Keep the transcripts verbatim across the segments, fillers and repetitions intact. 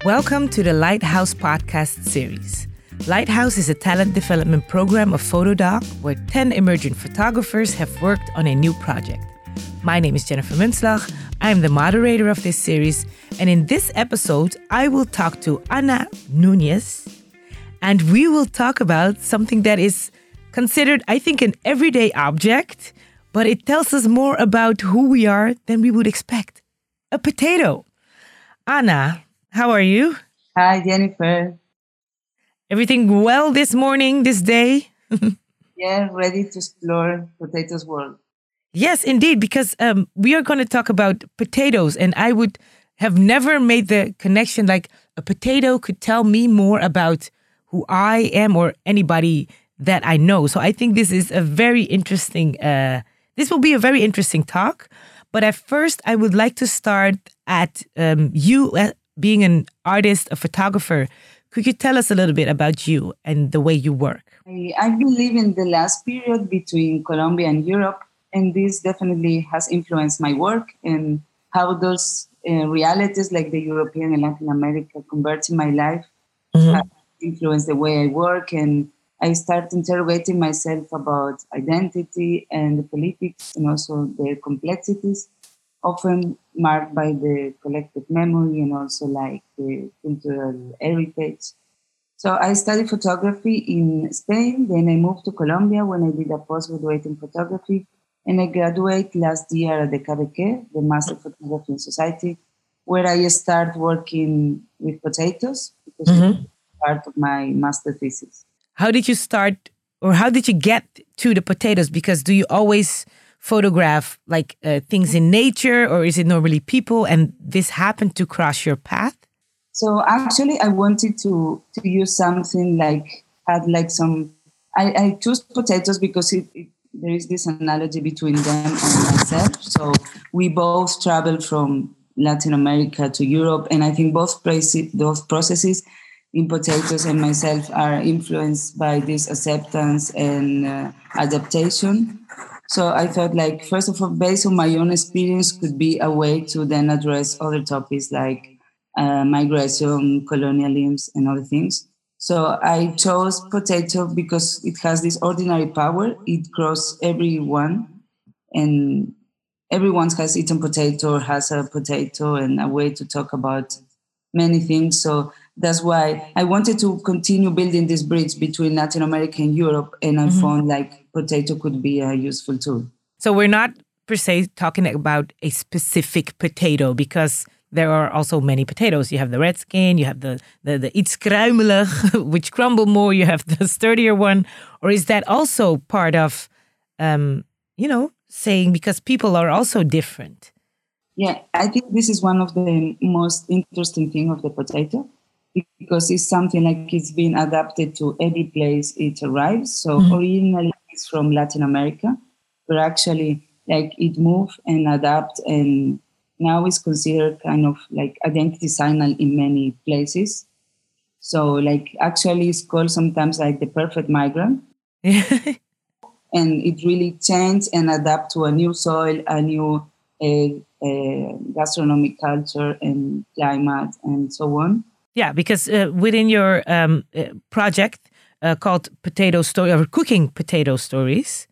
Welcome to the Lighthouse podcast series. Lighthouse is a talent development program of Photodoc where ten emerging photographers have worked on a new project. My name is Jennifer Munslag. I am the moderator of this series, and in this episode, I will talk to Ana Núñez, and we will talk about something that is considered, I think, an everyday object, but it tells us more about who we are than we would expect. A potato. Ana, how are you? Hi, Jennifer. Everything well this morning, this day? Yeah, ready to explore potatoes world. Yes, indeed, because um, we are going to talk about potatoes, and I would have never made the connection like a potato could tell me more about who I am or anybody that I know. So I think this is a very interesting, uh, this will be a very interesting talk. But at first, I would like to start at um, you uh, being an artist, a photographer. Could you tell us a little bit about you and the way you work? I, I've been living the last period between Colombia and Europe, and this definitely has influenced my work and how those uh, realities like the European and Latin America convert in my life mm-hmm. have influenced the way I work. And I start interrogating myself about identity and the politics and also their complexities, often marked by the collective memory and also like the cultural heritage. So I studied photography in Spain, then I moved to Colombia when I did a postgraduate in photography, and I graduated last year at the C A B Q, the Master of Photography in Society, where I start working with potatoes because mm-hmm. it's part of my master thesis. How did you start, or how did you get to the potatoes? Because do you always photograph like uh, things in nature, or is it normally people, and this happened to cross your path? So actually I wanted to, to use something like, had like some, I, I chose potatoes because it, it, there is this analogy between them and myself. So we both traveled from Latin America to Europe, and I think both, prac- both processes in potatoes and myself are influenced by this acceptance and uh, adaptation. So I thought, like, first of all, based on my own experience, could be a way to then address other topics like uh, migration, colonialism, and other things. So I chose potato because it has this ordinary power. It crosses everyone, and everyone has eaten potato or has a potato, and a way to talk about many things. So that's why I wanted to continue building this bridge between Latin America and Europe, and I mm-hmm. found like potato could be a useful tool. So we're not per se talking about a specific potato, because there are also many potatoes. You have the red skin, you have the, the, the iets kruimelig, which crumble more, you have the sturdier one. Or is that also part of, um, you know, saying because people are also different? Yeah, I think this is one of the most interesting things of the potato, because it's something like it's been adapted to every place it arrives. So mm-hmm. originally it's from Latin America, but actually like it moved and adapt, and now it's considered kind of like identity signal in many places. So like actually it's called sometimes like the perfect migrant. And it really changed and adapt to a new soil, a new uh, uh, gastronomic culture and climate and so on. Yeah, because uh, within your um, uh, project uh, called Potato Story, or Cooking Potato Stories,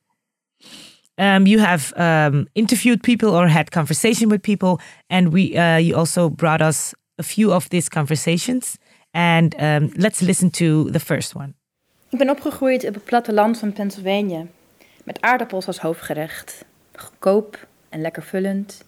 um, you have um, interviewed people or had conversation with people, and we uh, you also brought us a few of these conversations. And um, let's listen to the first one. Ik ben opgegroeid op het platteland van Pennsylvania, met aardappels als hoofdgerecht. Goedkoop en lekker vullend.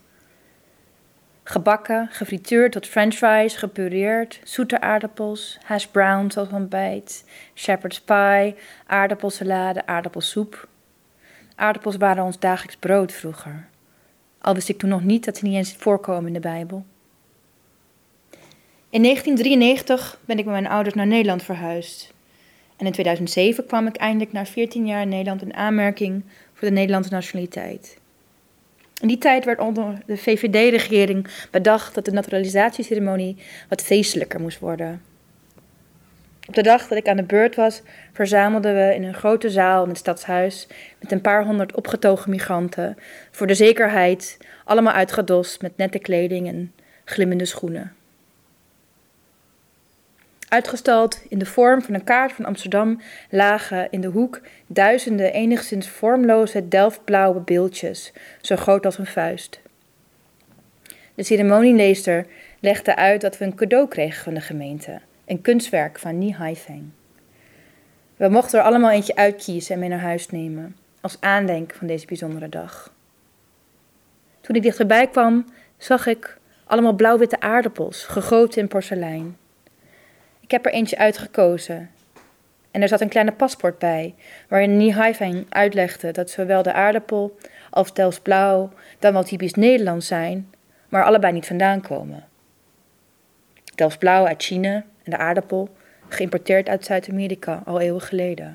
Gebakken, gefrituurd tot french fries, gepureerd, zoete aardappels, hash browns als ontbijt, shepherd's pie, aardappelsalade, aardappelsoep. Aardappels waren ons dagelijks brood vroeger. Al wist ik toen nog niet dat ze niet eens voorkomen in de Bijbel. In negentien drieënnegentig ben ik met mijn ouders naar Nederland verhuisd. En in tweeduizend zeven kwam ik eindelijk na veertien jaar in Nederland in aanmerking voor de Nederlandse nationaliteit. In die tijd werd onder de V V D-regering bedacht dat de naturalisatieceremonie wat feestelijker moest worden. Op de dag dat ik aan de beurt was, verzamelden we in een grote zaal in het stadshuis met een paar honderd opgetogen migranten, voor de zekerheid, allemaal uitgedost met nette kleding en glimmende schoenen. Uitgestald in de vorm van een kaart van Amsterdam lagen in de hoek duizenden enigszins vormloze delftblauwe beeldjes, zo groot als een vuist. De ceremonieleester legde uit dat we een cadeau kregen van de gemeente, een kunstwerk van Nie Haifeng. We mochten er allemaal eentje uitkiezen en mee naar huis nemen, als aandenken van deze bijzondere dag. Toen ik dichterbij kwam, zag ik allemaal blauw-witte aardappels, gegoten in porselein. Ik heb er eentje uitgekozen. En er zat een kleine paspoort bij, waarin Nie Haifeng uitlegde dat zowel de aardappel als Delftsblauw dan wel typisch Nederlands zijn, maar allebei niet vandaan komen. Delftsblauw uit China en de aardappel geïmporteerd uit Zuid-Amerika al eeuwen geleden.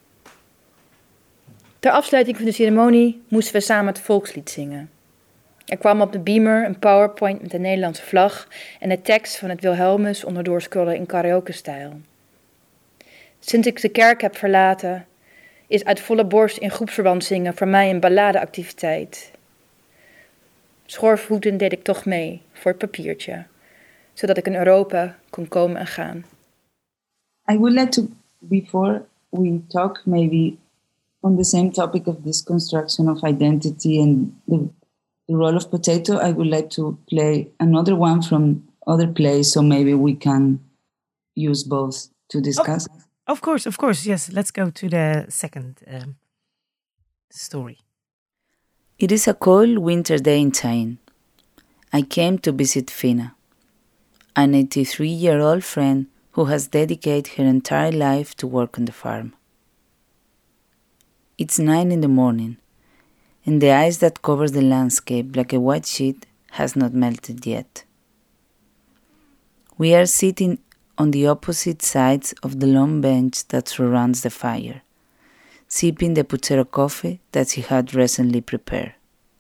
Ter afsluiting van de ceremonie moesten we samen het volkslied zingen. Er kwam op de beamer een PowerPoint met de Nederlandse vlag en de tekst van het Wilhelmus onderdoor scrollen in karaoke-stijl. Sinds ik de kerk heb verlaten, is uit volle borst in groepsverband zingen voor mij een balladeactiviteit. Schoorvoetend deed ik toch mee voor het papiertje, zodat ik in Europa kon komen en gaan. I would like to, before we talk maybe on the same topic of this construction of identity and the, the role of potato, I would like to play another one from other plays, so maybe we can use both to discuss. Of, of course, of course, yes. Let's go to the second um, story. It is a cold winter day in China. I came to visit Fina, an eighty-three-year-old friend who has dedicated her entire life to work on the farm. It's nine in the morning, and the ice that covers the landscape like a white sheet has not melted yet. We are sitting on the opposite sides of the long bench that surrounds the fire, sipping the puchero coffee that she had recently prepared.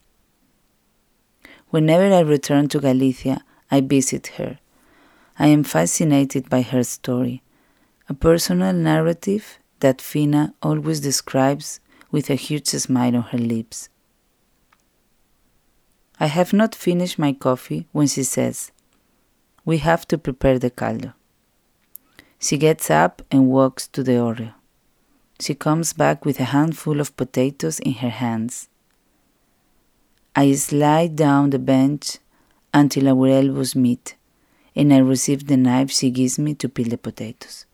Whenever I return to Galicia, I visit her. I am fascinated by her story, a personal narrative that Fina always describes with a huge smile on her lips. I have not finished my coffee when she says, "We have to prepare the caldo." She gets up and walks to the oreo. She comes back with a handful of potatoes in her hands. I slide down the bench until our elbows meet, and I receive the knife she gives me to peel the potatoes.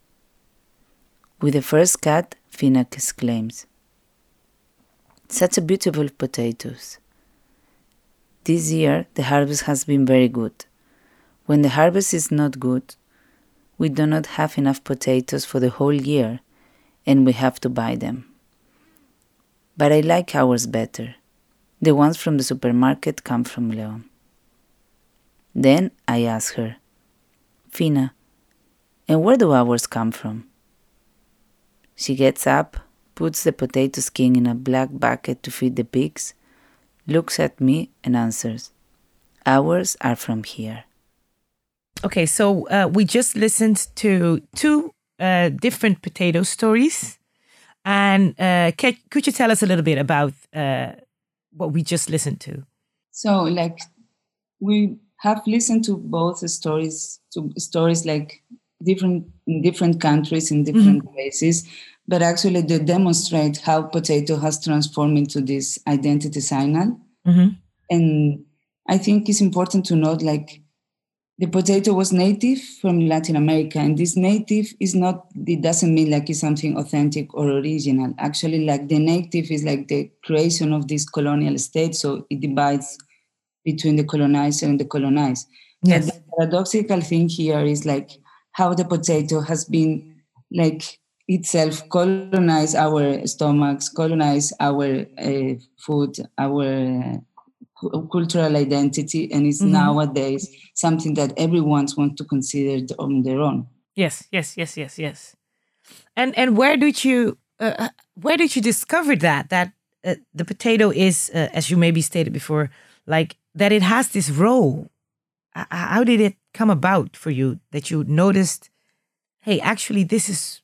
With the first cut, Fina exclaims, "Such a beautiful potatoes." This year, the harvest has been very good. When the harvest is not good, we do not have enough potatoes for the whole year, and we have to buy them. But I like ours better. The ones from the supermarket come from León. Then I ask her, "Fina, and where do ours come from?" She gets up, puts the potato skin in a black bucket to feed the pigs, looks at me and answers, "Ours are from here." Okay, so uh, we just listened to two uh, different potato stories. And uh, can, could you tell us a little bit about uh, what we just listened to? So, like, we have listened to both stories, to stories like different in different countries, in different mm-hmm. places, but actually they demonstrate how potato has transformed into this identity signal. Mm-hmm. And I think it's important to note, like, the potato was native from Latin America, and this native is not, it doesn't mean like it's something authentic or original. Actually, like the native is like the creation of this colonial state, so it divides between the colonizer and the colonized. Yes. But the paradoxical thing here is like how the potato has been like itself colonize our stomachs, colonize our uh, food, our uh, cultural identity, and it's mm-hmm. nowadays something that everyone wants to consider on their own. Yes, yes, yes, yes, yes. And and where did you uh, where did you discover that that uh, the potato is, uh, as you maybe stated before, like that it has this role? Uh, how did it come about for you that you noticed, hey, actually this is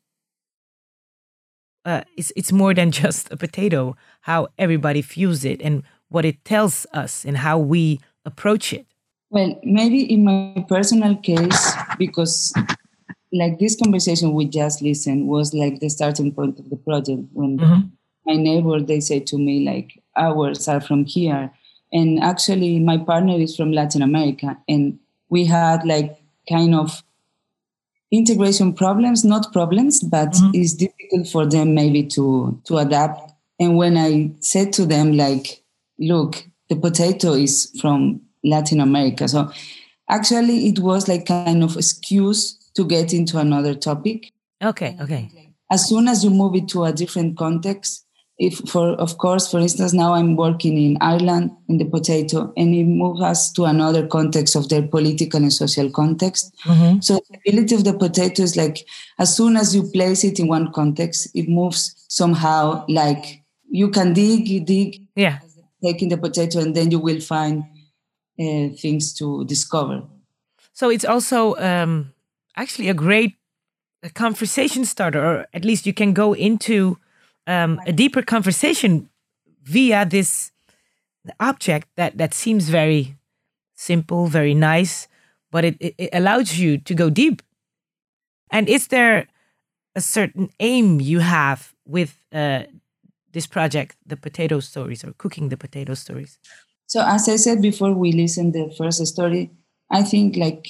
uh, it's it's more than just a potato? How everybody views it and what it tells us and how we approach it. Well, maybe in my personal case, because like this conversation we just listened was like the starting point of the project when Mm-hmm. my neighbor, they say to me like, ours are from here. And actually my partner is from Latin America, and we had like kind of integration problems, not problems, but Mm-hmm. it's difficult for them maybe to, to adapt. And when I said to them like, look, the potato is from Latin America. So actually it was like kind of excuse to get into another topic. Okay, okay. As soon as you move it to a different context, if for of course, for instance, now I'm working in Ireland in the potato, and it moves us to another context of their political and social context. Mm-hmm. So the ability of the potato is like, as soon as you place it in one context, it moves somehow, like you can dig, you dig, Yeah. taking the potato, and then you will find uh, things to discover. So it's also um, actually a great a conversation starter, or at least you can go into um, a deeper conversation via this object that, that seems very simple, very nice, but it, it, it allows you to go deep. And is there a certain aim you have with uh, this project, the potato stories, or cooking the potato stories? So as I said before we listened the first story, I think like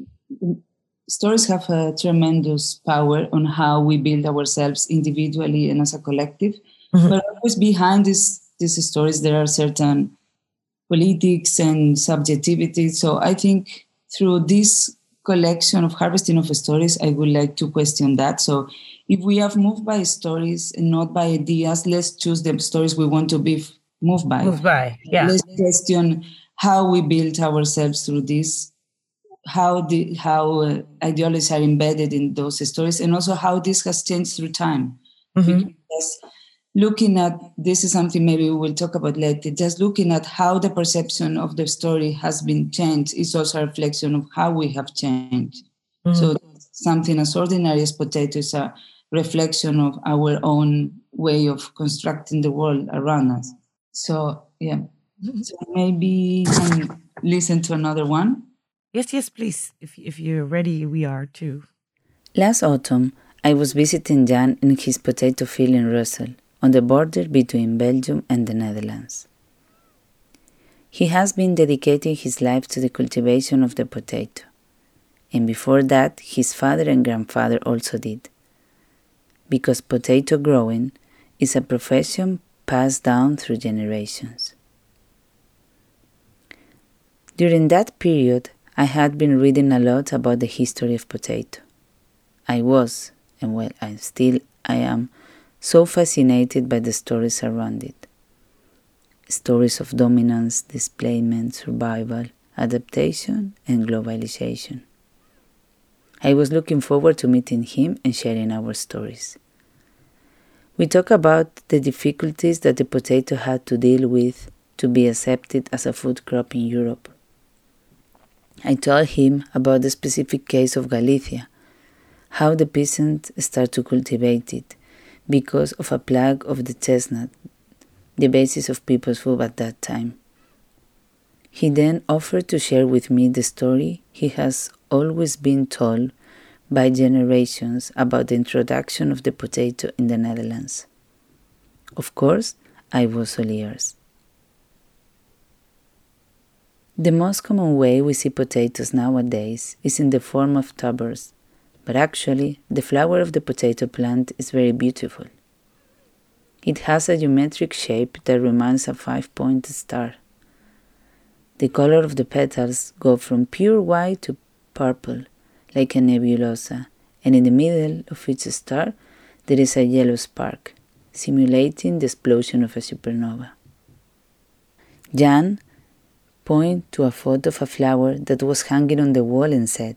stories have a tremendous power on how we build ourselves individually and as a collective. Mm-hmm. But always behind this, these stories, there are certain politics and subjectivity. So I think through this collection of harvesting of stories, I would like to question that. So if we have moved by stories and not by ideas, let's choose the stories we want to be moved by. Moved by, yeah. Let's question how we built ourselves through this, how the how uh, ideologies are embedded in those stories, and also how this has changed through time. Mm-hmm. Because looking at, this is something maybe we will talk about later, just looking at how the perception of the story has been changed is also a reflection of how we have changed. Mm-hmm. So something as ordinary as potato is a reflection of our own way of constructing the world around us. So, yeah. Mm-hmm. So maybe we can listen to another one. Yes, yes, please. If if you're ready, we are too. Last autumn, I was visiting Jan in his potato field in Russell, on the border between Belgium and the Netherlands. He has been dedicating his life to the cultivation of the potato, and before that, his father and grandfather also did, because potato growing is a profession passed down through generations. During that period, I had been reading a lot about the history of potato. I was, and well, I still I am, so fascinated by the stories around it. Stories of dominance, displacement, survival, adaptation, and globalization. I was looking forward to meeting him and sharing our stories. We talk about the difficulties that the potato had to deal with to be accepted as a food crop in Europe. I told him about the specific case of Galicia, how the peasants start to cultivate it because of a plague of the chestnut, the basis of people's food at that time. He then offered to share with me the story he has always been told by generations about the introduction of the potato in the Netherlands. Of course, I was all ears. The most common way we see potatoes nowadays is in the form of tubers, but actually the flower of the potato plant is very beautiful. It has a geometric shape that reminds a five-pointed star. The color of the petals go from pure white to purple, like a nebulosa, and in the middle of each star there is a yellow spark, simulating the explosion of a supernova. Jan pointed to a photo of a flower that was hanging on the wall and said,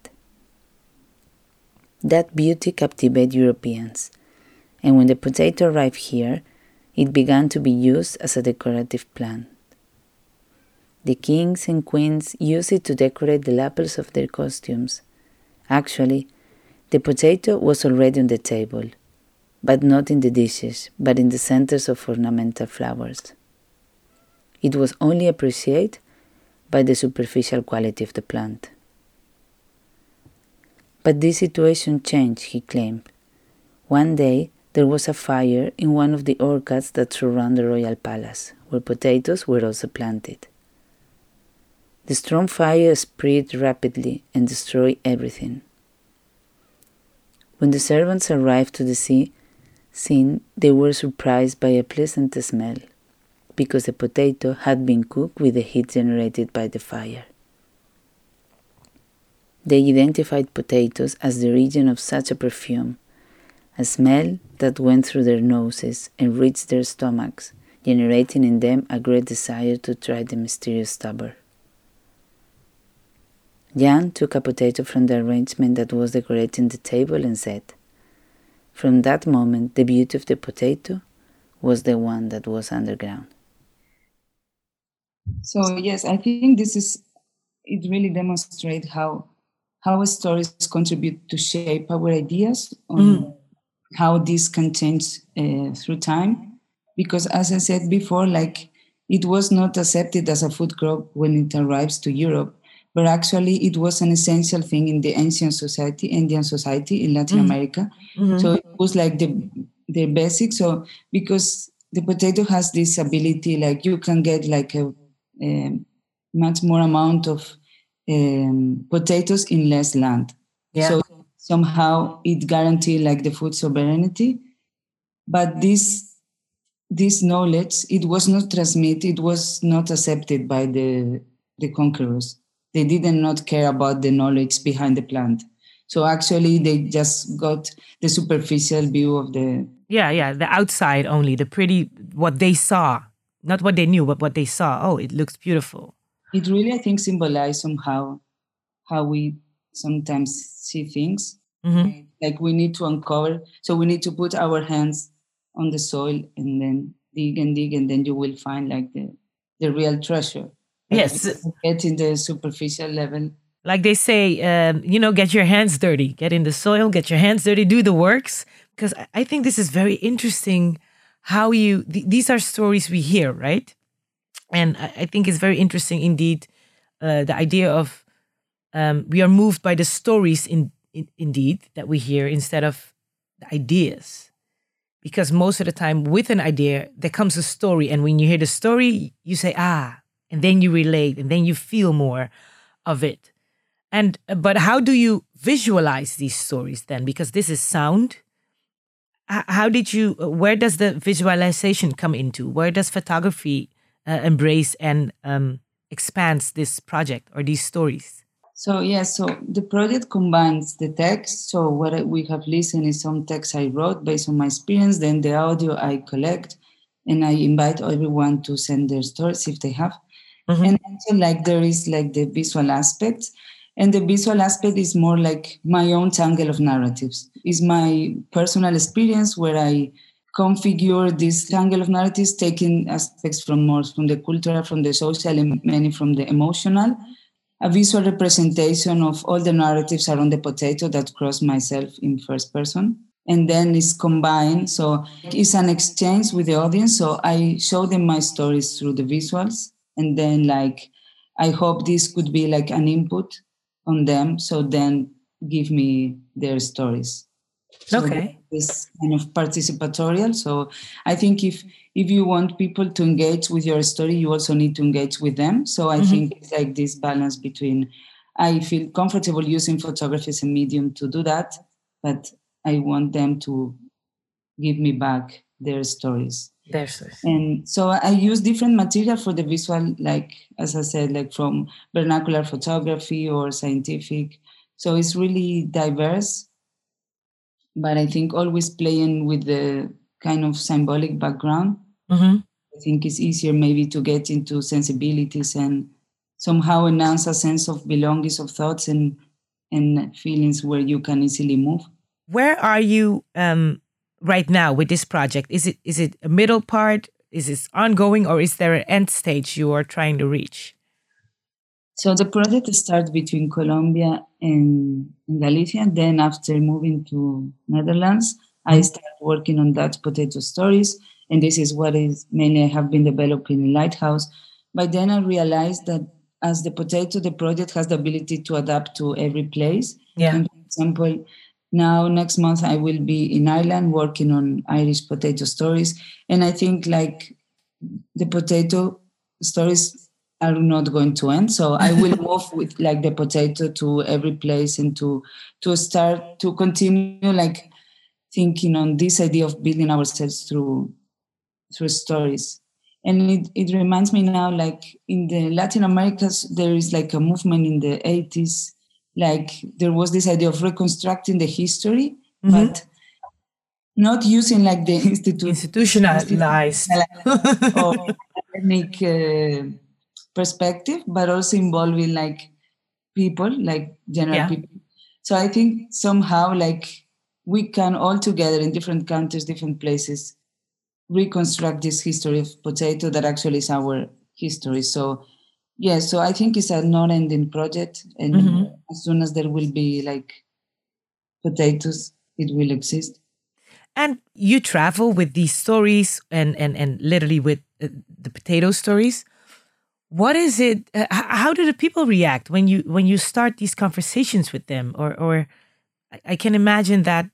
"That beauty captivated Europeans, and when the potato arrived here, it began to be used as a decorative plant. The kings and queens used it to decorate the lapels of their costumes. Actually, the potato was already on the table, but not in the dishes, but in the centers of ornamental flowers. It was only appreciated by the superficial quality of the plant." But this situation changed, he claimed. One day, there was a fire in one of the orchards that surround the royal palace, where potatoes were also planted. The strong fire spread rapidly and destroyed everything. When the servants arrived to the sea, scene, they were surprised by a pleasant smell, because the potato had been cooked with the heat generated by the fire. They identified potatoes as the region of such a perfume, a smell that went through their noses and reached their stomachs, generating in them a great desire to try the mysterious tuber. Jan took a potato from the arrangement that was decorating the table and said, "From that moment, the beauty of the potato was the one that was underground." So yes, I think this is, it really demonstrates how how stories contribute to shape our ideas on mm. how this can change uh, through time. Because as I said before, like it was not accepted as a food crop when it arrives to Europe, but actually it was an essential thing in the ancient society, Indian society in Latin mm. America. Mm-hmm. So it was like the the basic. So because the potato has this ability, like you can get like a, a much more amount of um, potatoes in less land. Yeah. So somehow it guaranteed like the food sovereignty. But this this knowledge, it was not transmitted, it was not accepted by the the conquerors. They did not care about the knowledge behind the plant. So actually they just got the superficial view of the... Yeah, yeah, the outside only, the pretty, what they saw. Not what they knew, but what they saw. Oh, it looks beautiful. It really, I think, symbolizes somehow how we sometimes see things. Mm-hmm. Like we need to uncover. So we need to put our hands on the soil and then dig and dig, and then you will find like the, the real treasure. Like yes. Get in the superficial level. Like they say, um, you know, get your hands dirty. Get in the soil, get your hands dirty, do the works. Because I think this is very interesting how you, th- these are stories we hear, right? And I, I think it's very interesting indeed, uh, the idea of um, we are moved by the stories in, in indeed that we hear instead of the ideas. Because most of the time with an idea, there comes a story. And when you hear the story, you say, ah, and then you relate and then you feel more of it. And but how do you visualize these stories then? Because this is sound. How did you, where does the visualization come into? Where does photography uh, embrace and um, expands this project or these stories? So, yes, yeah, so the project combines the text. So what we have listened is some text I wrote based on my experience, then the audio I collect, and I invite everyone to send their stories if they have. Mm-hmm. And also like there is like the visual aspect. And the visual aspect is more like my own tangle of narratives. It's my personal experience where I configure this tangle of narratives, taking aspects from more from the cultural, from the social, and many from the emotional. A visual representation of all the narratives around the potato that cross myself in first person. And then it's combined. So it's an exchange with the audience. So I show them my stories through the visuals. And then like, I hope this could be like an input on them, so then give me their stories. So okay. This kind of participatorial. So I think if if you want people to engage with your story, you also need to engage with them. So I mm-hmm. think it's like this balance between, I feel comfortable using photography as a medium to do that, but I want them to give me back their stories. Their stories. And so I use different material for the visual, like, as I said, like from vernacular photography or scientific. So it's really diverse, but I think always playing with the kind of symbolic background. Mm-hmm. I think it's easier maybe to get into sensibilities and somehow announce a sense of belonging, of thoughts and, and feelings where you can easily move. Where are you um, right now with this project? Is it is it a middle part? Is it ongoing, or is there an end stage you are trying to reach? So the project starts between Colombia and, and Galicia. Then after moving to Netherlands, I started working on Dutch potato stories. And this is what is mainly I have been developing in Lighthouse. By then I realized that as the potato, the project has the ability to adapt to every place. Yeah. And for example, now next month I will be in Ireland working on Irish potato stories. And I think like the potato stories are not going to end. So I will move with like the potato to every place and to to start to continue like thinking on this idea of building ourselves through through stories. And it, it reminds me now, like in the Latin Americas, there is like a movement in the eighties, like there was this idea of reconstructing the history, mm-hmm. but not using like the institu- institutionalized or academic uh, perspective, but also involving like people, like general yeah. people. So I think somehow like we can all together in different countries, different places, reconstruct this history of potato that actually is our history. So yeah, so I think it's a non-ending project, and mm-hmm. as soon as there will be like potatoes, it will exist. And you travel with these stories and and and literally with uh, the potato stories. What is it? Uh, how do the people react when you when you start these conversations with them? Or or I can imagine that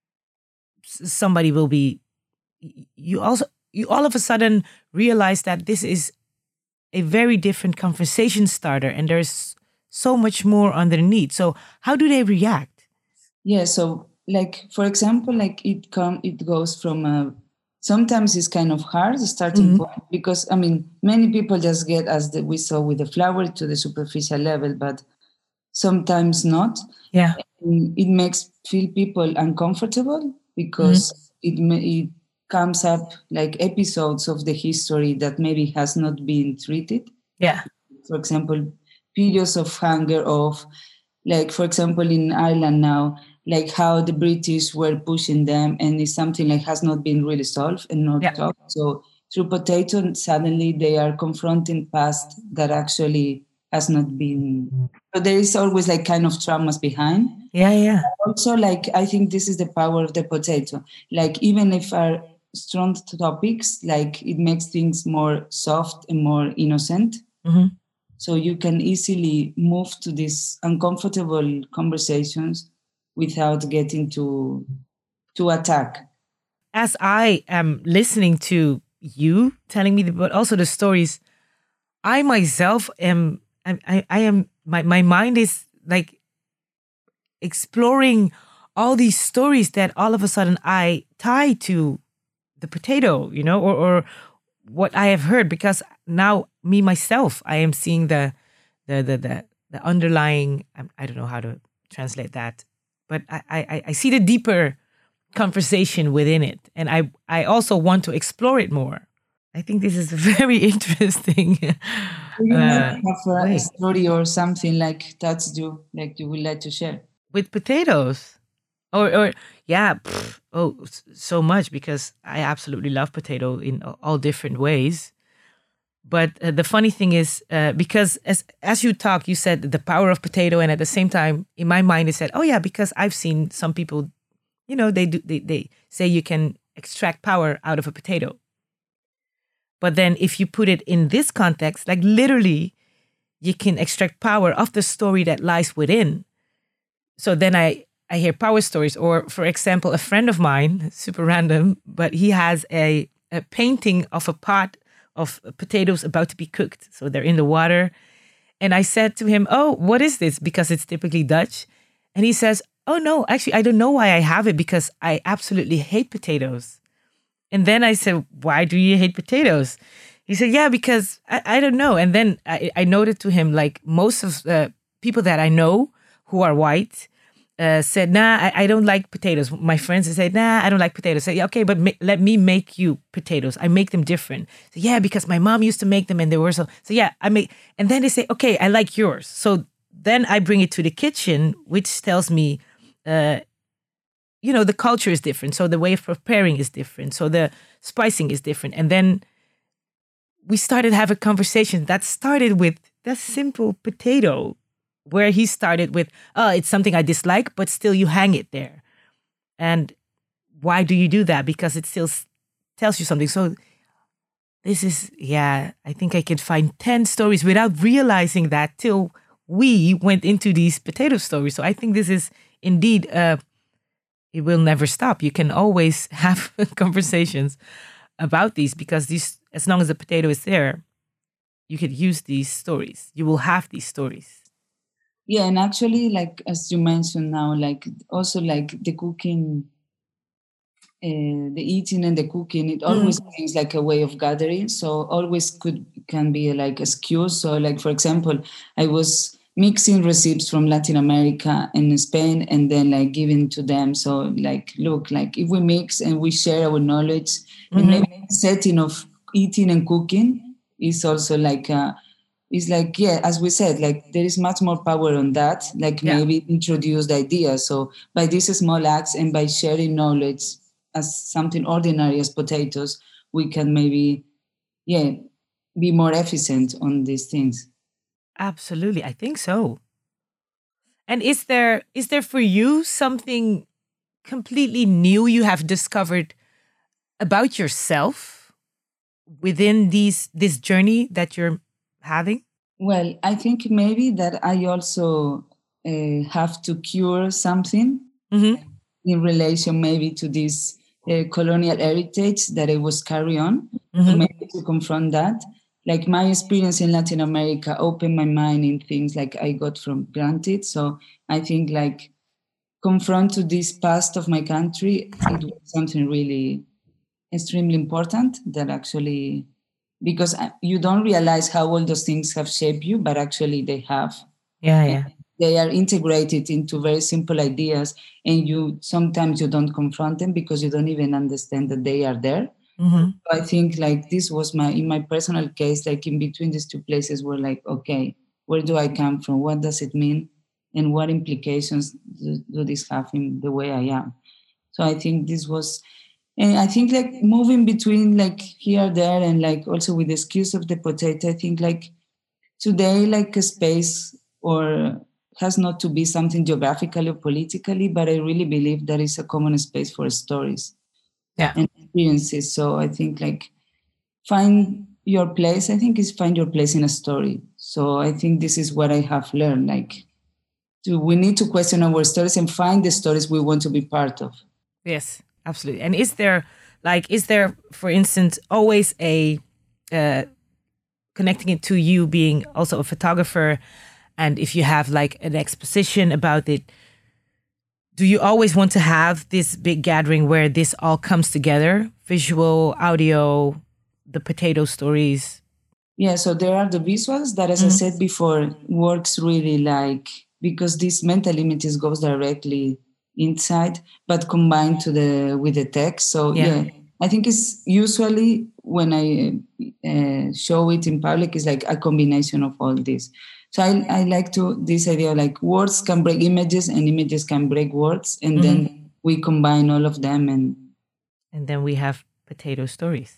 somebody will be. You also you all of a sudden realize that this is a very different conversation starter, and there's so much more underneath. So how do they react? Yeah. So like for example, like it come it goes from a. Sometimes it's kind of hard, the starting mm-hmm. point, because, I mean, many people just get, as the, we saw with the flower, to the superficial level, but sometimes not. Yeah. And it makes feel people uncomfortable because mm-hmm. it, it comes up like episodes of the history that maybe has not been treated. Yeah. For example, periods of hunger, of, like, for example, in Ireland now, like how the British were pushing them, and it's something like has not been really solved and not yeah. talked. So through potato, suddenly they are confronting past that actually has not been. So there is always like kind of traumas behind. Yeah, yeah. Also, like I think this is the power of the potato. Like even if our strong topics, like it makes things more soft and more innocent. Mm-hmm. So you can easily move to these uncomfortable conversations without getting to to attack. As I am listening to you telling me, the, but also the stories, I myself am, I, I, I am, my, my mind is like exploring all these stories that all of a sudden I tie to the potato, you know, or, or what I have heard, because now me myself, I am seeing the, the, the, the, the underlying, I, I don't know how to translate that. But I, I, I see the deeper conversation within it. And I, I also want to explore it more. I think this is very interesting. You uh, have a wait. story or something like that's you, like you would like to share? With potatoes? Or, or yeah, pff, oh, so much, because I absolutely love potato in all different ways. But uh, the funny thing is, uh, because as as you talk, you said the power of potato, and at the same time, in my mind, it said, "Oh yeah," because I've seen some people, you know, they do they they say you can extract power out of a potato. But then, if you put it in this context, like literally, you can extract power of the story that lies within. So then I I hear power stories, or for example, a friend of mine, super random, but he has a a painting of a pot of potatoes about to be cooked. So they're in the water. And I said to him, "Oh, what is this?" Because it's typically Dutch. And he says, "Oh no, actually, I don't know why I have it, because I absolutely hate potatoes." And then I said, "Why do you hate potatoes?" He said, "Yeah, because I, I don't know." And then I, I noted to him, like most of the people that I know who are white, Uh, said, "Nah, I, I don't like potatoes." My friends said, "Nah, I don't like potatoes." I said, "Yeah, okay, but ma- let me make you potatoes. I make them different." So, yeah, because my mom used to make them and they were so. So yeah, I make. And then they say, "Okay, I like yours." So then I bring it to the kitchen, which tells me, uh, you know, the culture is different. So the way of preparing is different. So the spicing is different. And then we started to have a conversation that started with that simple potato, where he started with, "Oh, it's something I dislike, but still you hang it there." And why do you do that? Because it still s- tells you something. So this is, yeah, I think I could find ten stories without realizing that till we went into these potato stories. So I think this is indeed, uh, it will never stop. You can always have conversations about these because these, as long as the potato is there, you could use these stories. You will have these stories. Yeah, and actually, like as you mentioned now, like also like the cooking, uh, the eating and the cooking, it always mm. brings like a way of gathering. So always could can be like a excuse. So like for example, I was mixing recipes from Latin America and Spain, and then like giving to them. So like, look, like if we mix and we share our knowledge, mm-hmm. and maybe the setting of eating and cooking is also like a. It's like, yeah, as we said, like there is much more power on that, like yeah. maybe introduce the idea. So by these small acts and by sharing knowledge as something ordinary as potatoes, we can maybe, yeah, be more efficient on these things. Absolutely. I think so. And is there is there for you something completely new you have discovered about yourself within these this journey that you're having? Well, I think maybe that I also uh, have to cure something mm-hmm. in relation maybe to this uh, colonial heritage that I was carrying on, mm-hmm. so maybe to confront that. Like my experience in Latin America opened my mind in things like I got from granted. So I think like confront to this past of my country, it was something really extremely important that actually... Because you don't realize how all those things have shaped you, but actually they have. Yeah, yeah. And they are integrated into very simple ideas, and you sometimes you don't confront them because you don't even understand that they are there. Mm-hmm. So I think like this was my, in my personal case, like in between these two places were like, okay, where do I come from? What does it mean? And what implications do, do this have in the way I am? So I think this was... And I think like moving between like here, there, and like also with the excuse of the potato, I think like today, like a space or has not to be something geographically or politically, but I really believe there is a common space for stories yeah. and experiences. So I think like find your place, I think is find your place in a story. So I think this is what I have learned, like to, we need to question our stories and find the stories we want to be part of. Yes. Absolutely. And is there, like, is there, for instance, always a, uh, connecting it to you being also a photographer, and if you have like an exposition about it, do you always want to have this big gathering where this all comes together? Visual, audio, the potato stories? Yeah, so there are the visuals that, as mm-hmm. I said before, works really like, because this mental images goes directly inside, but combined to the with the text. So yeah, yeah I think it's usually when I uh, show it in public, it's like a combination of all this. So I, I like to this idea like words can break images and images can break words, and mm-hmm. then we combine all of them, and and then we have potato stories.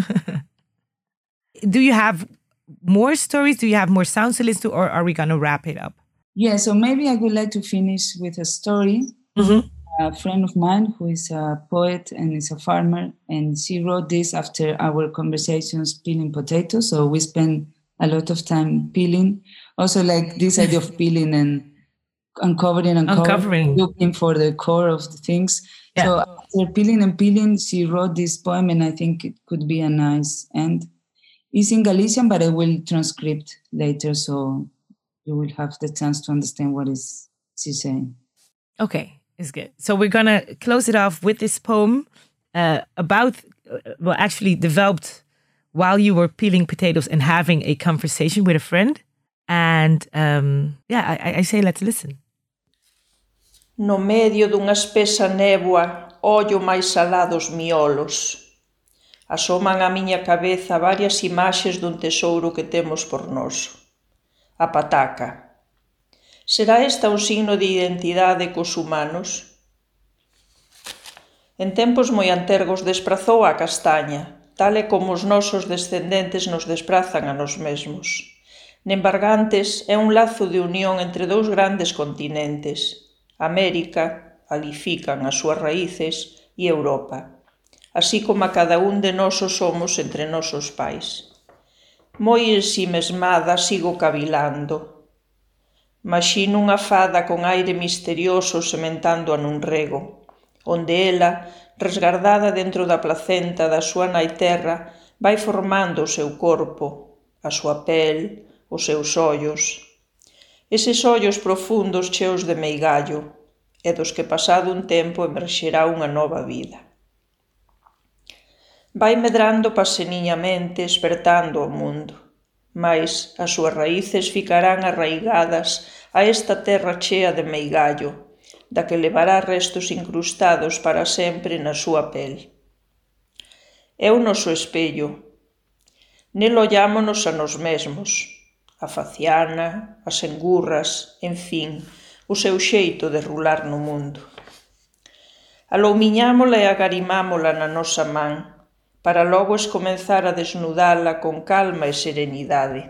Do you have more stories? Do you have more sounds to listen to, or are we gonna wrap it up? Yeah, so maybe I would like to finish with a story. Mm-hmm. A friend of mine who is a poet and is a farmer, and she wrote this after our conversations peeling potatoes. So we spent a lot of time peeling. Also, like this idea of peeling and uncovering and uncovering, looking for the core of the things. Yeah. So after peeling and peeling, she wrote this poem, and I think it could be a nice end. It's in Galician, but I will transcript later, so you will have the chance to understand what is she saying. Okay. Is good. So we're going to close it off with this poem uh, about, uh, well, actually developed while you were peeling potatoes and having a conversation with a friend. And um, yeah, I, I say let's listen. No medio dunha espesa néboa, ollo máis salados miolos. Asoman á miña cabeza varias imaxes dun tesouro que temos por nós. A pataca. Será esta un signo de identidade cos humanos? En tempos moi antergos desprazou a castaña, tal e como os nosos descendentes nos desprazan a nós mesmos. Nembargantes é un lazo de unión entre dous grandes continentes, América, ali fican as súas raíces, e Europa, así como a cada un de nós o somos entre nosos pais. Moi ensimesmada sigo cavilando. Maxino unha fada con aire misterioso sementándoa nun rego, onde ela, resgardada dentro da placenta da súa nai terra, vai formando o seu corpo, a súa pel, os seus ollos. Eses ollos profundos cheos de meigallo, e dos que pasado un tempo emerxerá unha nova vida. Vai medrando paseniñamente, espertando o mundo, mais as súas raíces ficarán arraigadas a esta terra chea de meigallo, da que levará restos incrustados para sempre na súa pel. É o noso espello. Nel ollámonos a nos mesmos, a faciana, as engurras, en fin, o seu xeito de rular no mundo. Aloumiñámola e agarimámola na nosa man, para logo escomenzar a desnudala con calma e serenidade.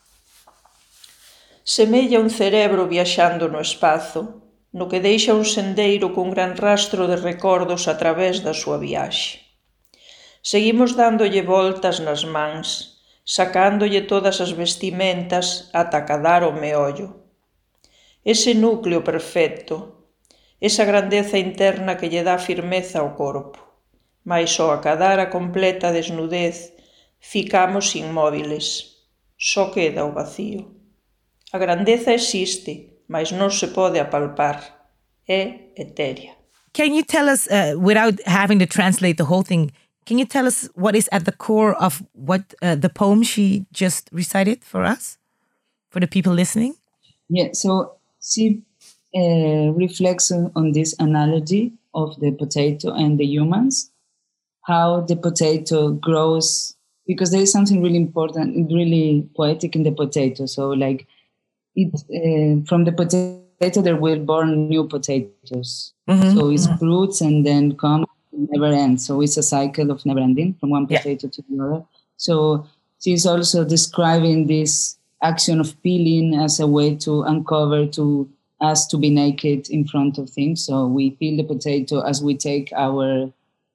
Semella un cerebro viaxando no espazo, no que deixa un sendeiro cun gran rastro de recordos a través da súa viaxe. Seguimos dándolle voltas nas mans, sacándolle todas as vestimentas ata cadar o meollo. Ese núcleo perfecto, esa grandeza interna que lle dá firmeza ao corpo, mais só a cadar a completa desnudez ficamos inmóviles, só queda o vacío. A grandeza existe, mas non se pode apalpar, é etérea. Can you tell us, uh, without having to translate the whole thing, can you tell us what is at the core of what uh, the poem she just recited for us, for the people listening? Yeah, so she uh, reflects on, on this analogy of the potato and the humans, how the potato grows, because there is something really important, really poetic in the potato. So like it uh, from the potato, there will born new potatoes. Mm-hmm. So it's mm-hmm. fruits and then come never ends. So it's a cycle of never ending from one potato yeah. to the other. So she's also describing this action of peeling as a way to uncover, to us to be naked in front of things. So we peel the potato as we take our,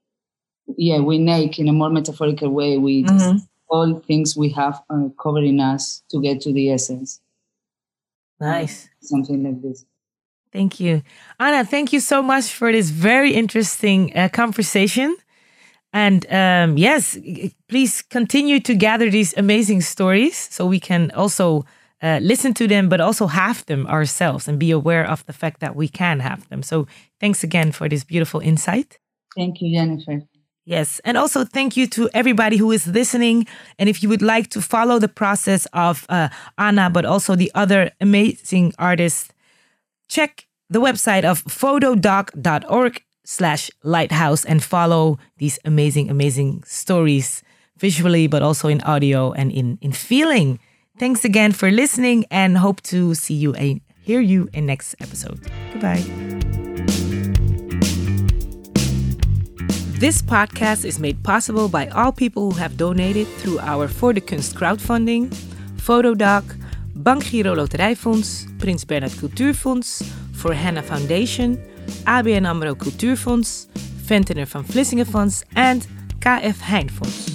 yeah, we nake in a more metaphorical way. We mm-hmm. just, all things we have are covering us to get to the essence. Nice. Something like this. Thank you. Anna, thank you so much for this very interesting uh, conversation. And um, yes, please continue to gather these amazing stories so we can also uh, listen to them, but also have them ourselves and be aware of the fact that we can have them. So thanks again for this beautiful insight. Thank you, Jennifer. Yes. And also thank you to everybody who is listening. And if you would like to follow the process of uh, Anna, but also the other amazing artists, check the website of photodoc.org slash lighthouse and follow these amazing, amazing stories visually, but also in audio and in, in feeling. Thanks again for listening and hope to see you and hear you in next episode. Goodbye. This podcast is made possible by all people who have donated through our Voor de Kunst crowdfunding, Photodoc, Bankgiro Loterijfonds, Prins Bernhard Cultuurfonds, For Hannah Foundation, A B N AMRO Cultuurfonds, Ventnor van Vlissingen Fonds, and K F Heijn Fonds.